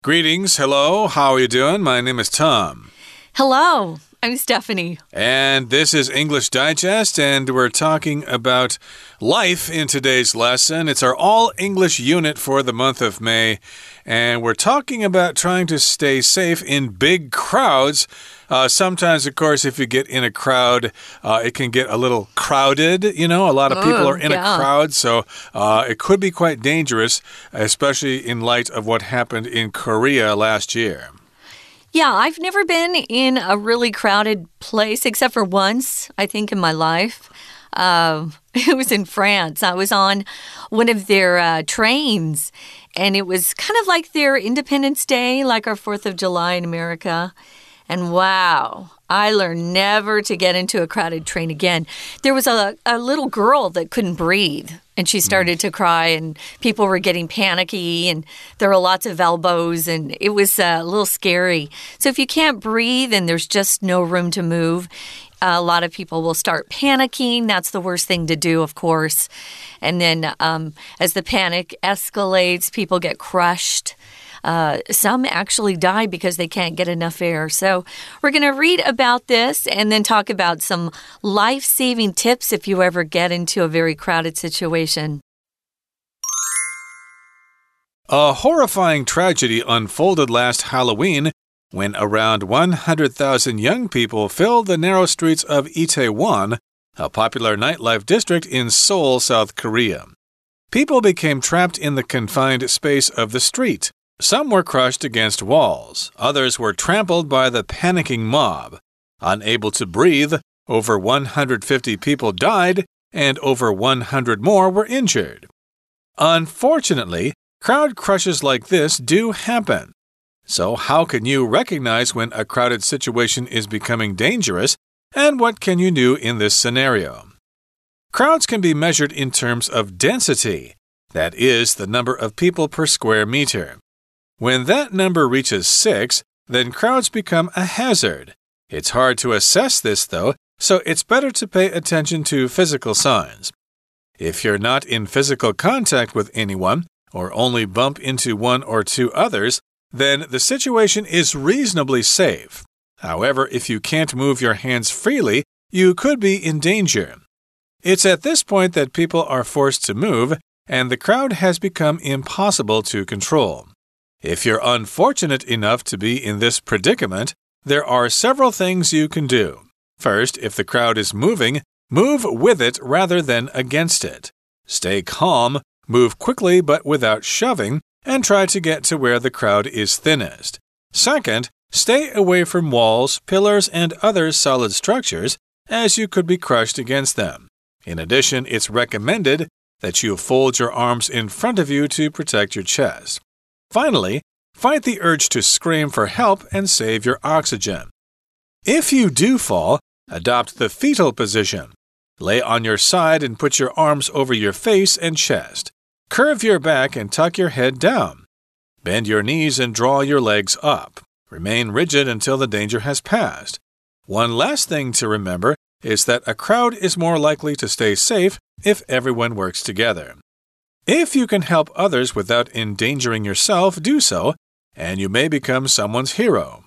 Greetings. Hello. How are you doing? My name is Tom. Hello. I'm Stephanie. And this is English Digest, and we're talking about life in today's lesson. It's our all-English unit for the month of May, and we're talking about trying to stay safe in big crowds. Sometimes, of course, if you get in a crowd, it can get a little crowded. You know, a lot of people are in a crowd, so it could be quite dangerous, especially in light of what happened in Korea last year. Yeah, I've never been in a really crowded place except for once, I think, in my life. It was in France. I was on one of their trains, and it was kind of like their Independence Day, like our 4th of July in America. And wow, I learned never to get into a crowded train again. There was a little girl that couldn't breathe, and she started to cry, and people were getting panicky, and there were lots of elbows, and it was a little scary. So if you can't breathe and there's just no room to move, a lot of people will start panicking. That's the worst thing to do, of course. And then as the panic escalates, people get crushed. Some actually die because they can't get enough air. So we're going to read about this and then talk about some life-saving tips if you ever get into a very crowded situation. A horrifying tragedy unfolded last Halloween when around 100,000 young people filled the narrow streets of Itaewon, a popular nightlife district in Seoul, South Korea. People became trapped in the confined space of the street. Some were crushed against walls. Others were trampled by the panicking mob. Unable to breathe, over 150 people died, and over 100 more were injured. Unfortunately, crowd crushes like this do happen. So how can you recognize when a crowded situation is becoming dangerous, and what can you do in this scenario? Crowds can be measured in terms of density. That is, the number of people per square meter. When that number reaches 6, then crowds become a hazard. It's hard to assess this, though, so it's better to pay attention to physical signs. If you're not in physical contact with anyone, or only bump into one or two others, then the situation is reasonably safe. However, if you can't move your hands freely, you could be in danger. It's at this point that people are forced to move, and the crowd has become impossible to control. If you're unfortunate enough to be in this predicament, there are several things you can do. First, if the crowd is moving, move with it rather than against it. Stay calm, move quickly but without shoving, and try to get to where the crowd is thinnest. Second, stay away from walls, pillars, and other solid structures, as you could be crushed against them. In addition, it's recommended that you fold your arms in front of you to protect your chest. Finally, fight the urge to scream for help and save your oxygen. If you do fall, adopt the fetal position. Lay on your side and put your arms over your face and chest. Curve your back and tuck your head down. Bend your knees and draw your legs up. Remain rigid until the danger has passed. One last thing to remember is that a crowd is more likely to stay safe if everyone works together. If you can help others without endangering yourself, do so, and you may become someone's hero.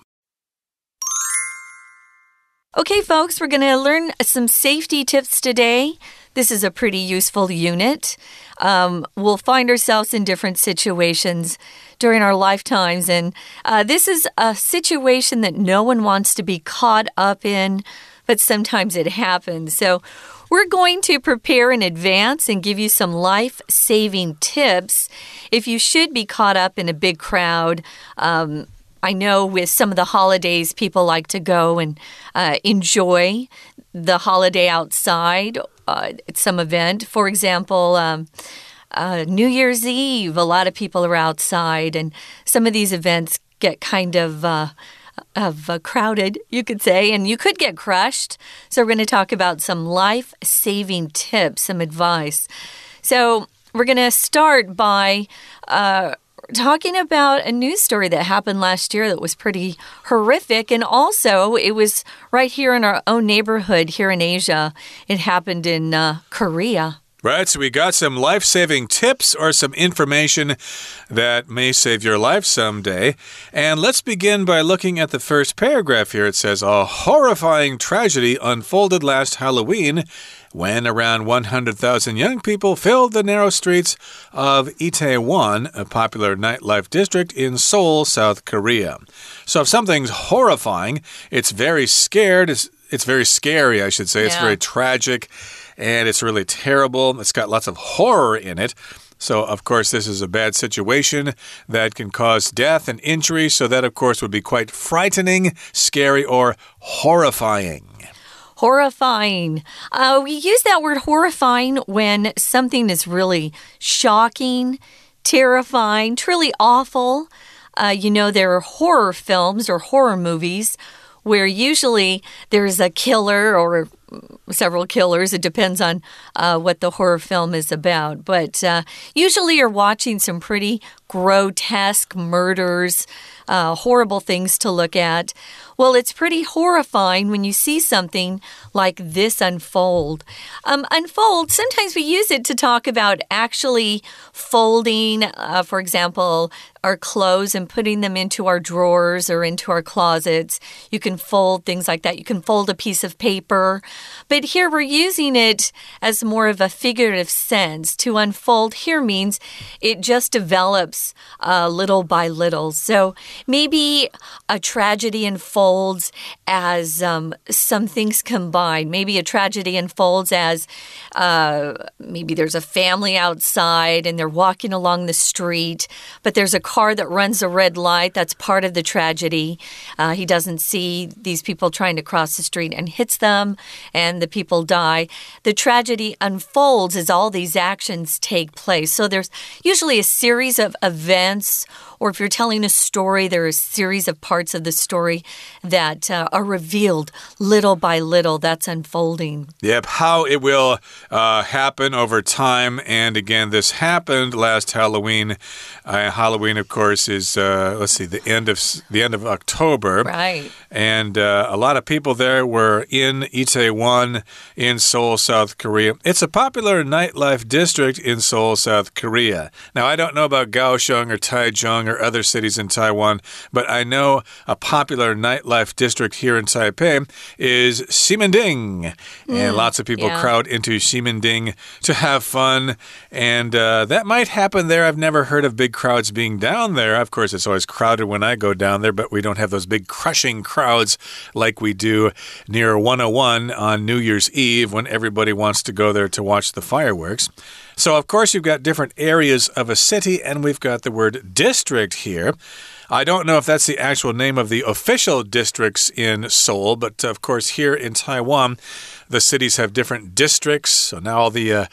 Okay, folks, we're going to learn some safety tips today. This is a pretty useful unit. We'll find ourselves in different situations during our lifetimes, and this is a situation that no one wants to be caught up in, but sometimes it happens. So we're going to prepare in advance and give you some life-saving tips if you should be caught up in a big crowd. I know with some of the holidays, people like to go and enjoy the holiday outside at some event. For example, New Year's Eve, a lot of people are outside, and some of these events get kind of crowded, you could say, and you could get crushed. So we're going to talk about some life-saving tips, some advice. So we're going to start by talking about a news story that happened last year that was pretty horrific, and also it was right here in our own neighborhood here in Asia. It happened in Korea. Right, so we got some life-saving tips or some information that may save your life someday. And let's begin by looking at the first paragraph here. It says, a horrifying tragedy unfolded last Halloween when around 100,000 young people filled the narrow streets of Itaewon, a popular nightlife district in Seoul, South Korea. So if something's horrifying, it's very scared. It's very scary, I should say. Yeah. It's very tragic. And it's really terrible. It's got lots of horror in it. So, of course, this is a bad situation that can cause death and injury. So that, of course, would be quite frightening, scary, or horrifying. Horrifying. We use that word horrifying when something is really shocking, terrifying, truly awful. There are horror films or horror movies where usually there's a killer or several killers. It depends on what the horror film is about. But usually you're watching some pretty grotesque murders, horrible things to look at. Well, it's pretty horrifying when you see something like this unfold. Unfold, sometimes we use it to talk about actually folding, for example, our clothes and putting them into our drawers or into our closets. You can fold things like that. You can fold a piece of paper. But here we're using it as more of a figurative sense. To unfold here means it just develops little by little. So maybe a tragedy unfolds as some things combine. Maybe a tragedy unfolds as maybe there's a family outside and they're walking along the street, but there's a car that runs a red light. That's part of the tragedy. He doesn't see these people trying to cross the street and hits them, and the people die. The tragedy unfolds as all these actions take place. So there's usually a series of events, or if you're telling a story, there are a series of parts of the story that are revealed little by little. That's unfolding. Yep, how it will happen over time. And again, this happened last Halloween. Halloween, of course, is the end of October. Right. And a lot of people there were in Itaewon in Seoul, South Korea. It's a popular nightlife district in Seoul, South Korea. Now, I don't know about Kaohsiung or Taichung or other cities in Taiwan, but I know a popular nightlife district here in Taipei is Ximending. And lots of people crowd into Ximending to have fun. And that might happen there. I've never heard of big crowds being down there. Of course, it's always crowded when I go down there, but we don't have those big crushing crowds like we do near 101 on New Year's Eve when everybody wants to go there to watch the fireworks. So, of course, you've got different areas of a city, and we've got the word district here. I don't know if that's the actual name of the official districts in Seoul, but of course here in Taiwan, the cities have different districts. So now all the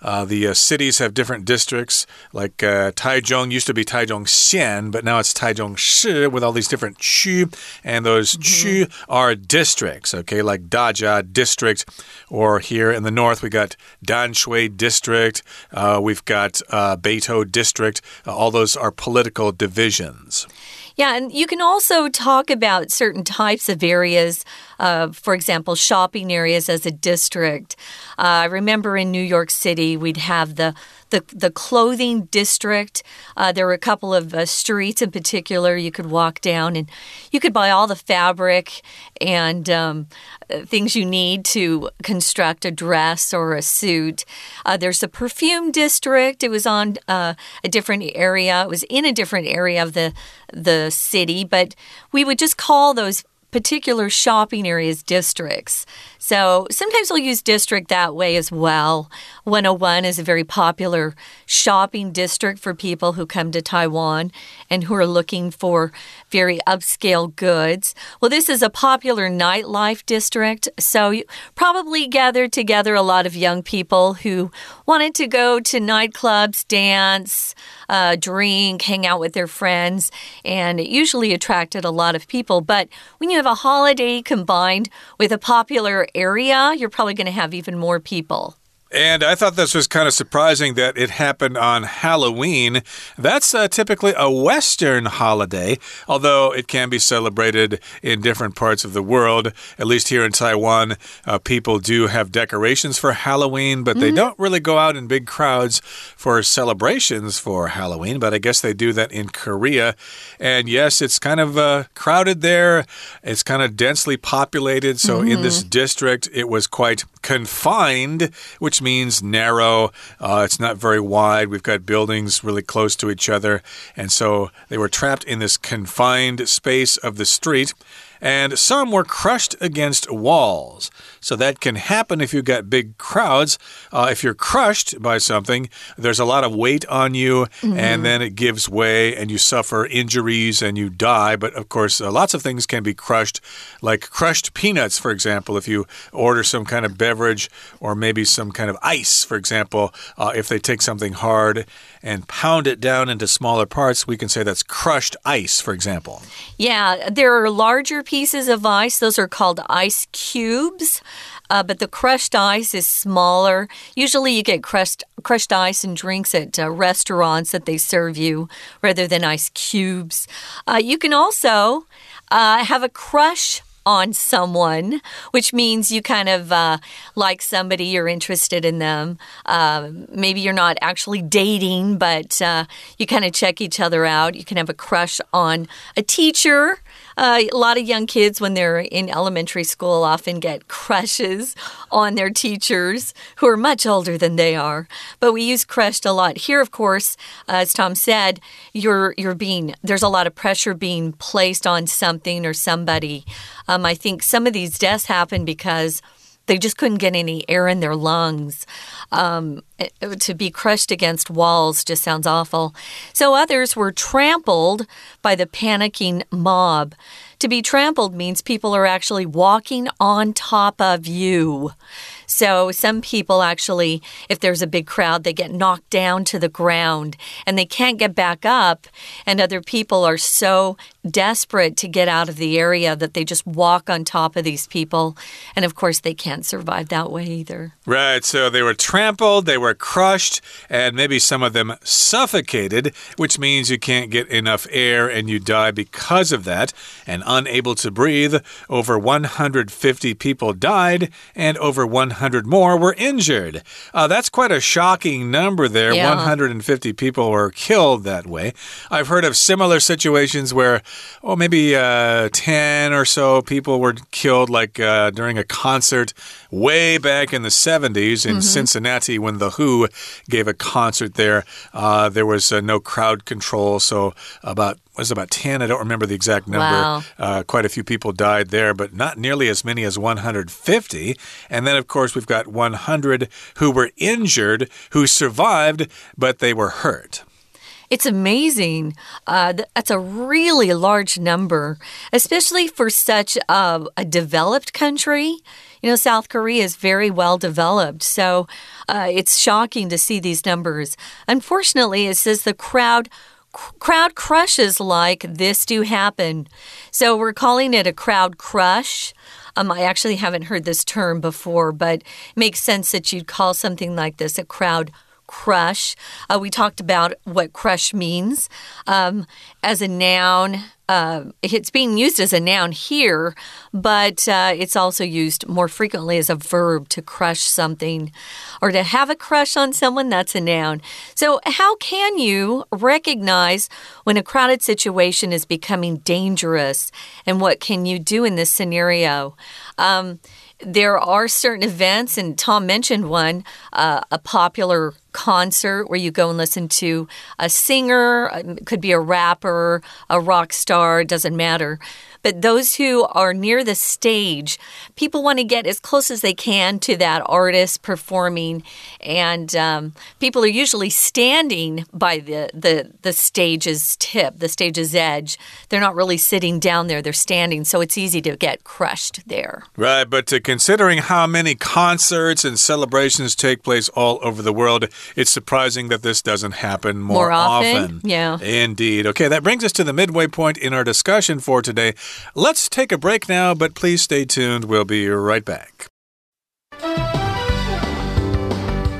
cities have different districts. Like Taichung used to be Taichung-Xian, but now it's Taichung-Shi with all these different chu, and those chu are districts. Okay, like Dajia district, or here in the north we got Danshui district. We've got Beito district. All those are political divisions. Yeah, and you can also talk about certain types of areas, for example, shopping areas as a district. I remember in New York City, we'd have the clothing district. There were a couple of streets in particular you could walk down, and you could buy all the fabric and things you need to construct a dress or a suit. There's a perfume district. It was on a different area. It was in a different area of the city, but we would just call those particular shopping areas districts. So sometimes we'll use district that way as well. 101 is a very popular shopping district for people who come to Taiwan and who are looking for very upscale goods. Well, this is a popular nightlife district, so you probably gathered together a lot of young people who wanted to go to nightclubs, dance, drink, hang out with their friends, and it usually attracted a lot of people. But when you have a holiday combined with a popular area, you're probably going to have even more people. And I thought this was kind of surprising that it happened on Halloween. That's typically a Western holiday, although it can be celebrated in different parts of the world. At least here in Taiwan, people do have decorations for Halloween, but they don't really go out in big crowds for celebrations for Halloween. But I guess they do that in Korea. And yes, it's kind of crowded there. It's kind of densely populated. So in this district, it was quite confined, which means narrow. It's not very wide. We've got buildings really close to each other. And so they were trapped in this confined space of the street. And some were crushed against walls. So that can happen if you've got big crowds. If you're crushed by something, there's a lot of weight on you, and then it gives way, and you suffer injuries, and you die. But, of course, lots of things can be crushed, like crushed peanuts, for example. If you order some kind of beverage or maybe some kind of ice, for example, if they take something hard and pound it down into smaller parts, we can say that's crushed ice, for example. Yeah, there are larger pieces of ice. Those are called ice cubes. But the crushed ice is smaller. Usually you get crushed ice and drinks at restaurants that they serve you rather than ice cubes. You can also have a crush on someone, which means you kind of like somebody, you're interested in them. Maybe you're not actually dating, but you kind of check each other out. You can have a crush on a teacher. A lot of young kids, when they're in elementary school, often get crushes on their teachers who are much older than they are. But we use crushed a lot. Here, of course, as Tom said, there's a lot of pressure being placed on something or somebody. I think some of these deaths happen because they just couldn't get any air in their lungs. To be crushed against walls just sounds awful. So others were trampled by the panicking mob. To be trampled means people are actually walking on top of you. So some people actually, if there's a big crowd, they get knocked down to the ground and they can't get back up. And other people are so desperate to get out of the area that they just walk on top of these people. And of course, they can't survive that way either. Right, so they were trampled, they were crushed, and maybe some of them suffocated, which means you can't get enough air and you die because of that. And unable to breathe, over 150 people died and over 100 more were injured. That's quite a shocking number there. Yeah. 150 people were killed that way. I've heard of similar situations where, maybe 10 or so people were killed, like during a concert way back in the 70s in Cincinnati when The Who gave a concert there. There was no crowd control, so about 10. I don't remember the exact number. Wow. Quite a few people died there, but not nearly as many as 150. And then, of course, we've got 100 who were injured, who survived, but they were hurt. It's amazing. That's a really large number, especially for such a developed country. You know, South Korea is very well developed, so it's shocking to see these numbers. Unfortunately, it says the crowd crushes like this do happen. So we're calling it a crowd crush. I actually haven't heard this term before, but it makes sense that you'd call something like this a crowd crush. We talked about what crush means as a noun. It's being used as a noun here, but it's also used more frequently as a verb to crush something or to have a crush on someone. That's a noun. So how can you recognize when a crowded situation is becoming dangerous, and what can you do in this scenario? There are certain events, and Tom mentioned one, a popular concert where you go and listen to a singer, it could be a rapper, a rock star, it doesn't matter. But those who are near the stage, people want to get as close as they can to that artist performing. And people are usually standing by the stage's tip, the stage's edge. They're not really sitting down there, they're standing. So it's easy to get crushed there. Right, but considering how many concerts and celebrations take place all over the world, it's surprising that this doesn't happen more often. Yeah. Indeed. Okay, that brings us to the midway point in our discussion for today. Let's take a break now, but please stay tuned. We'll be right back.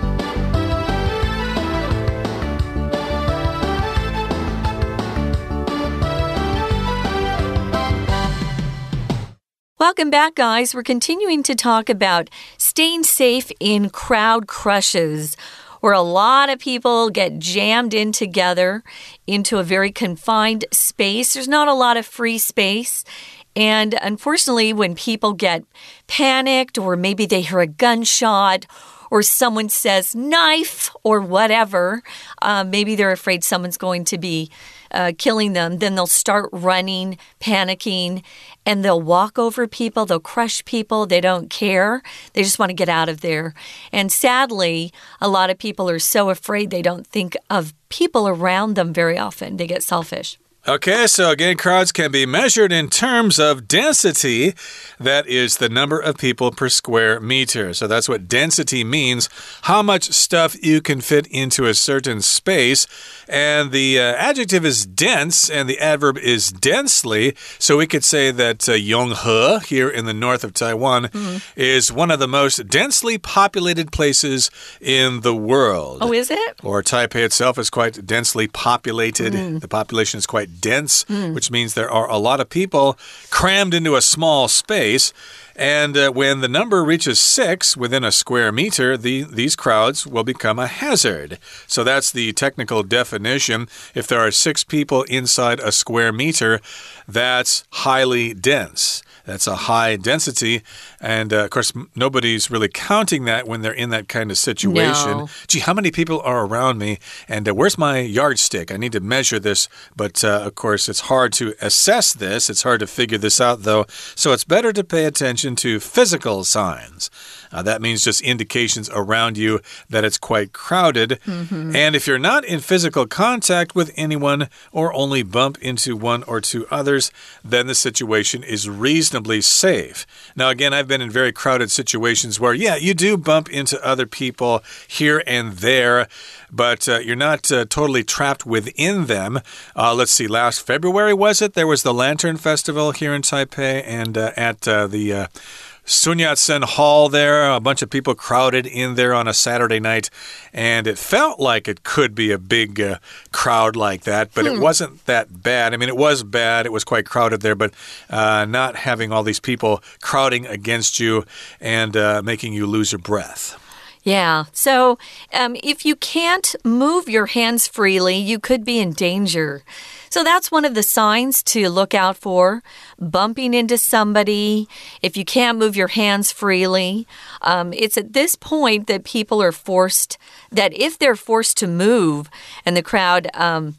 Welcome back, guys. We're continuing to talk about staying safe in crowd crushes, where a lot of people get jammed in together into a very confined space. There's not a lot of free space. And unfortunately, when people get panicked, or maybe they hear a gunshot, or someone says knife or whatever, maybe they're afraid someone's going to be killing them, then they'll start running, panicking, and they'll walk over people, they'll crush people, they don't care. They just want to get out of there. And sadly, a lot of people are so afraid they don't think of people around them very often. They get selfish. Okay, so again, crowds can be measured in terms of density. That is the number of people per square meter. So that's what density means, how much stuff you can fit into a certain space. And the adjective is dense, and the adverb is densely. So we could say that Yonghe, here in the north of Taiwan, is one of the most densely populated places in the world. Oh, is it? Or Taipei itself is quite densely populated. The population is quite dense, which means there are a lot of people crammed into a small space. And when the number reaches 6 within a square meter, these crowds will become a hazard. So that's the technical definition. If there are 6 people inside a square meter, that's highly dense. That's a high density. And, of course, nobody's really counting that when they're in that kind of situation. No. Gee, how many people are around me? And where's my yardstick? I need to measure this. But, of course, it's hard to assess this. It's hard to figure this out, though. So it's better to pay attention to physical signs. That means just indications around you that it's quite crowded. And if you're not in physical contact with anyone or only bump into one or two others, then the situation is reasonably safe. Now, again, I've been in very crowded situations where, yeah, you do bump into other people here and there, but you're not totally trapped within them. Let's see, last February, was it? There was the Lantern Festival here in Taipei, and at the Sun Yat-sen Hall there, a bunch of people crowded in there on a Saturday night, and it felt like it could be a big crowd like that, but it wasn't that bad. I mean, it was bad. It was quite crowded there, but not having all these people crowding against you and making you lose your breath. Yeah, so if you can't move your hands freely, you could be in danger. So that's one of the signs to look out for. Bumping into somebody, if you can't move your hands freely. It's at this point that people are forced, that if they're forced to move and the crowd,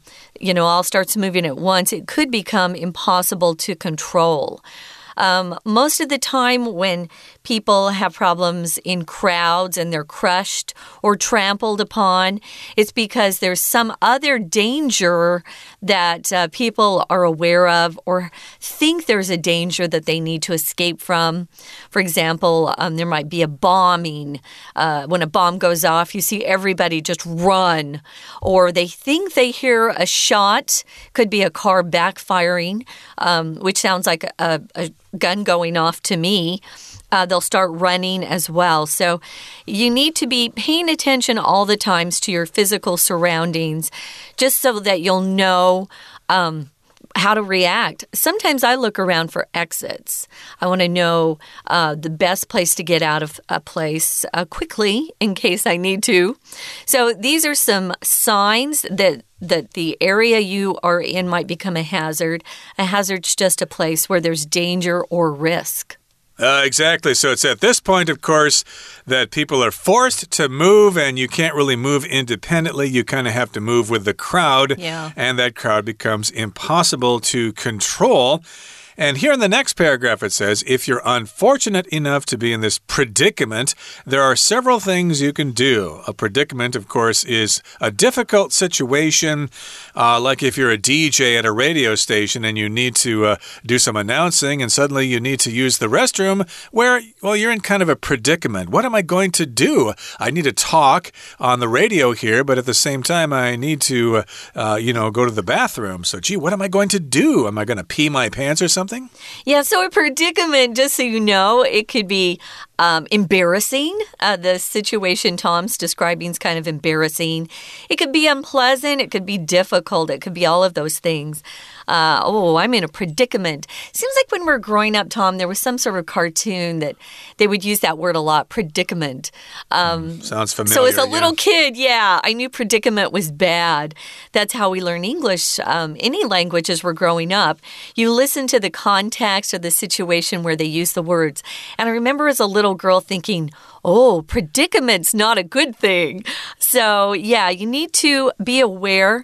all starts moving at once, it could become impossible to control. Most of the time when people have problems in crowds and they're crushed or trampled upon, it's because there's some other danger that people are aware of or think there's a danger that they need to escape from. For example, there might be a bombing. When a bomb goes off, you see everybody just run. Or they think they hear a shot, could be a car backfiring, which sounds like a gun going off to me. They'll start running as well. So you need to be paying attention all the times to your physical surroundings, just so that you'll know how to react. Sometimes I look around for exits. I want to know the best place to get out of a place quickly in case I need to. So these are some signs that the area you are in might become a hazard. A hazard's just a place where there's danger or risk. Exactly. So it's at this point, of course, that people are forced to move, and you can't really move independently. You kind of have to move with the crowd, and that crowd becomes impossible to control. And here in the next paragraph it says, if you're unfortunate enough to be in this predicament, there are several things you can do. A predicament, of course, is a difficult situation, like if you're a DJ at a radio station and you need to do some announcing and suddenly you need to use the restroom where, well, you're in kind of a predicament. What am I going to do? I need to talk on the radio here, but at the same time I need to, go to the bathroom. So, gee, what am I going to do? Am I going to pee my pants or something? Yeah, so a predicament, just so you know, it could be embarrassing. The situation Tom's describing is kind of embarrassing. It could be unpleasant. It could be difficult. It could be all of those things. I'm in a predicament. Seems like when we were growing up, Tom, there was some sort of cartoon that they would use that word a lot, predicament. Sounds familiar. So as a little kid, I knew predicament was bad. That's how we learn English. Any language as we're growing up. You listen to the context or the situation where they use the words. And I remember as a little girl thinking, predicament's not a good thing. So, you need to be aware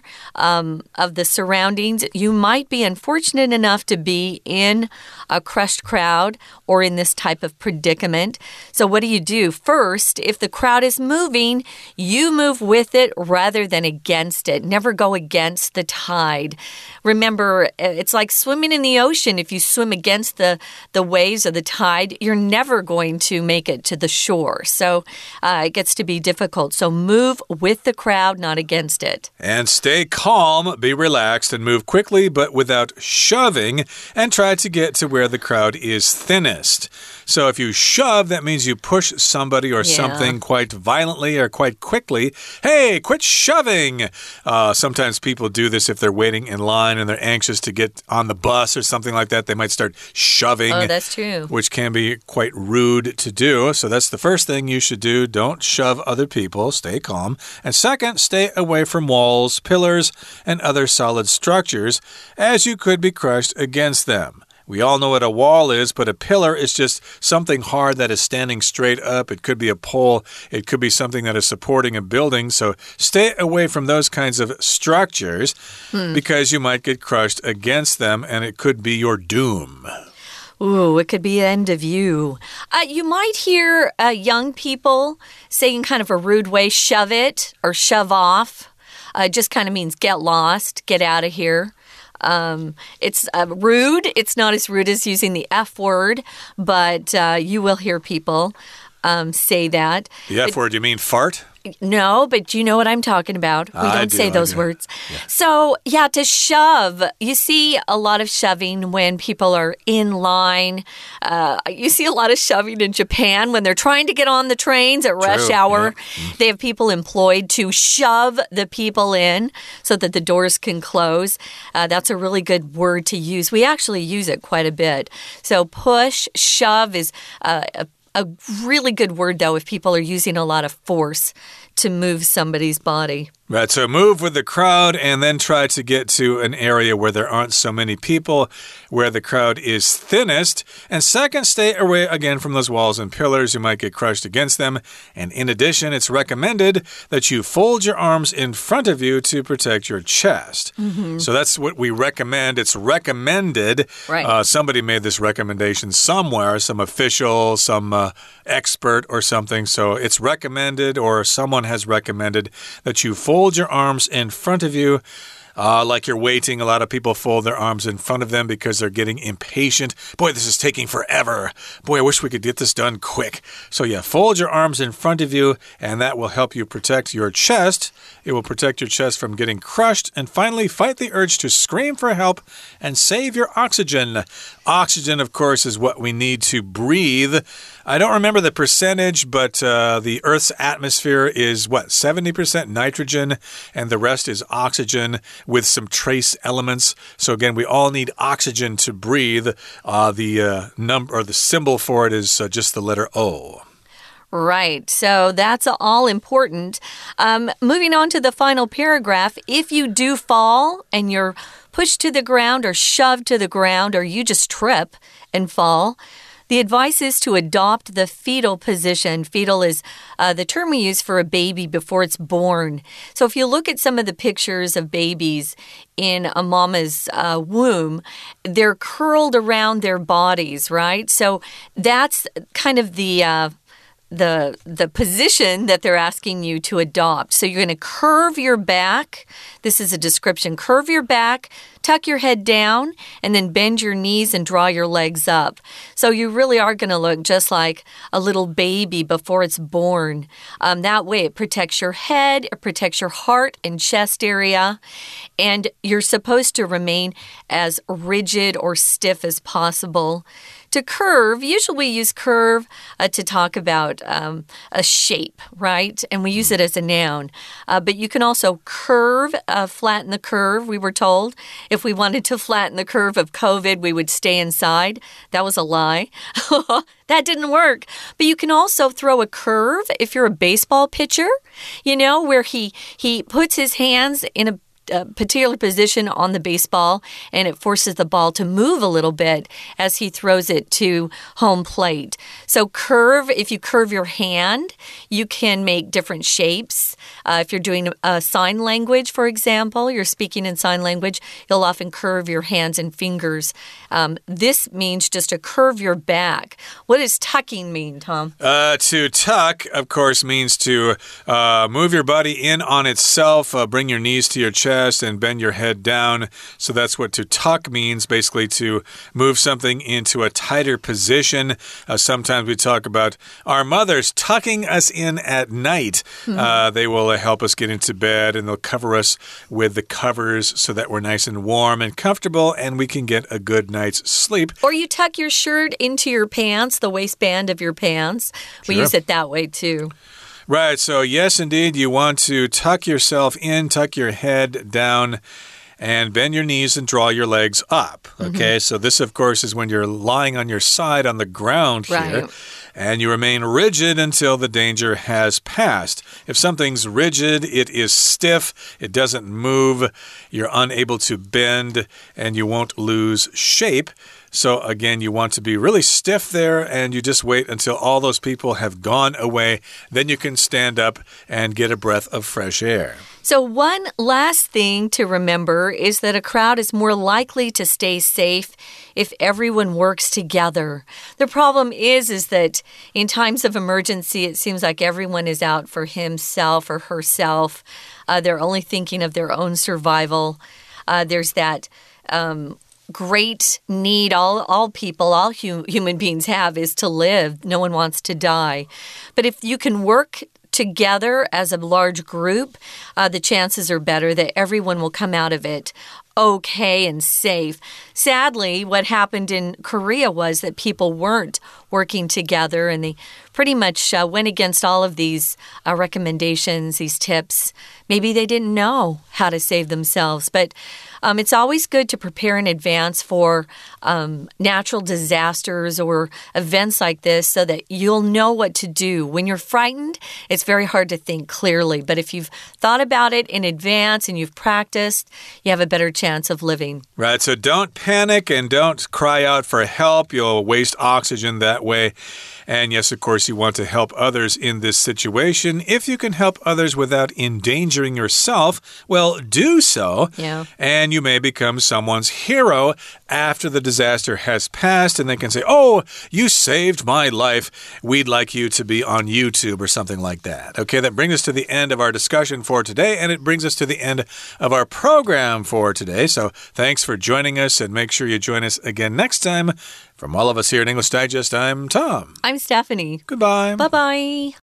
of the surroundings. You might be unfortunate enough to be in a crushed crowd or in this type of predicament. So what do? First, if the crowd is moving, you move with it rather than against it. Never go against the tide. Remember, it's like swimming in the ocean. If you swim against the waves or the tide, you're never going to make it to the shore. So it gets to be difficult. So move with the crowd, not against it. And stay calm, be relaxed, and move quickly but without shoving, and try to get to where the crowd is thinnest. So if you shove, that means you push somebody or something quite violently or quite quickly. Hey, quit shoving! Sometimes people do this if they're waiting in line and they're anxious to get on the bus or something like that. They might start shoving. Oh, that's true. Which can be quite rude to do. So that's the first thing you should do. Don't shove other people. Stay calm. And second, stay away from walls, pillars, and other solid structures, as you could be crushed against them. We all know what a wall is, but a pillar is just something hard that is standing straight up. It could be a pole. It could be something that is supporting a building. So stay away from those kinds of structures because you might get crushed against them, and it could be your doom. Ooh, it could be the end of you. You might hear young people saying kind of a rude way, shove it or shove off. It just kind of means get lost, get out of here. It's rude. It's not as rude as using the F word, but you will hear people say that. The F word, you mean fart? No, but you know what I'm talking about. We don't say those words. Yeah. So, to shove. You see a lot of shoving when people are in line. You see a lot of shoving in Japan when they're trying to get on the trains at rush hour. Yeah. They have people employed to shove the people in so that the doors can close. That's a really good word to use. We actually use it quite a bit. So push, shove is a really good word, though, if people are using a lot of force to move somebody's body. Right, so move with the crowd and then try to get to an area where there aren't so many people, where the crowd is thinnest. And second, stay away again from those walls and pillars. You might get crushed against them. And in addition, it's recommended that you fold your arms in front of you to protect your chest. So that's what we recommend. It's recommended. Right. Somebody made this recommendation somewhere, some official, some expert or something. So it's recommended, or someone has recommended, that you fold your arms in front of you. Like you're waiting. A lot of people fold their arms in front of them because they're getting impatient. Boy, this is taking forever. Boy, I wish we could get this done quick. So fold your arms in front of you, and that will help you protect your chest. It will protect your chest from getting crushed. And finally, fight the urge to scream for help and save your oxygen. Oxygen, of course, is what we need to breathe. I don't remember the percentage, but the Earth's atmosphere is, 70% nitrogen, and the rest is oxygen with some trace elements. So again, we all need oxygen to breathe. The number or the symbol for it is just the letter O. Right, so that's all important. Moving on to the final paragraph, if you do fall and you're pushed to the ground or shoved to the ground, or you just trip and fall, the advice is to adopt the fetal position. Fetal is the term we use for a baby before it's born. So if you look at some of the pictures of babies in a mama's womb, they're curled around their bodies, right? So that's kind of the position that they're asking you to adopt. So you're going to curve your back. This is a description. Curve your back, tuck your head down, and then bend your knees and draw your legs up. So you really are going to look just like a little baby before it's born. That way it protects your head, it protects your heart and chest area, and you're supposed to remain as rigid or stiff as possible To curve, usually we use curve to talk about a shape, right? And we use it as a noun. But you can also curve, flatten the curve, we were told. If we wanted to flatten the curve of COVID, we would stay inside. That was a lie. That didn't work. But you can also throw a curve if you're a baseball pitcher, where he puts his hands in a particular position on the baseball, and it forces the ball to move a little bit as he throws it to home plate. So curve, if you curve your hand, you can make different shapes. If you're doing sign language, for example, you're speaking in sign language, you'll often curve your hands and fingers. This means just to curve your back. What does tucking mean, Tom? To tuck, of course, means to move your body in on itself, bring your knees to your chest, and bend your head down. So that's what to tuck means, basically to move something into a tighter position. Sometimes we talk about our mothers tucking us in at night. They will help us get into bed, and they'll cover us with the covers so that we're nice and warm and comfortable, and we can get a good night's sleep. Or you tuck your shirt into your pants, the waistband of your pants. We use it that way too. Right, so yes, indeed, you want to tuck yourself in, tuck your head down, and bend your knees and draw your legs up. Okay, so this, of course, is when you're lying on your side on the ground here. And you remain rigid until the danger has passed. If something's rigid, it is stiff, it doesn't move, you're unable to bend, and you won't lose shape. So again, you want to be really stiff there, and you just wait until all those people have gone away. Then you can stand up and get a breath of fresh air. So one last thing to remember is that a crowd is more likely to stay safe if everyone works together. The problem is that in times of emergency, it seems like everyone is out for himself or herself. They're only thinking of their own survival. There's that great need all people, all human beings have is to live. No one wants to die. But if you can work together as a large group, the chances are better that everyone will come out of it okay and safe. Sadly, what happened in Korea was that people weren't working together, and they pretty much went against all of these recommendations, these tips. Maybe they didn't know how to save themselves, but it's always good to prepare in advance for natural disasters or events like this so that you'll know what to do. When you're frightened, it's very hard to think clearly, but if you've thought about it in advance and you've practiced, you have a better chance of living. Right, so don't panic and don't cry out for help. You'll waste oxygen that way. And yes, of course, you want to help others in this situation. If you can help others without endangering yourself, well, do so. Yeah. And you may become someone's hero after the disaster has passed, and they can say, oh, you saved my life. We'd like you to be on YouTube or something like that. Okay, that brings us to the end of our discussion for today, and it brings us to the end of our program for today. So thanks for joining us, and make sure you join us again next time. From all of us here at English Digest, I'm Tom. I'm Stephanie. Goodbye. Bye-bye.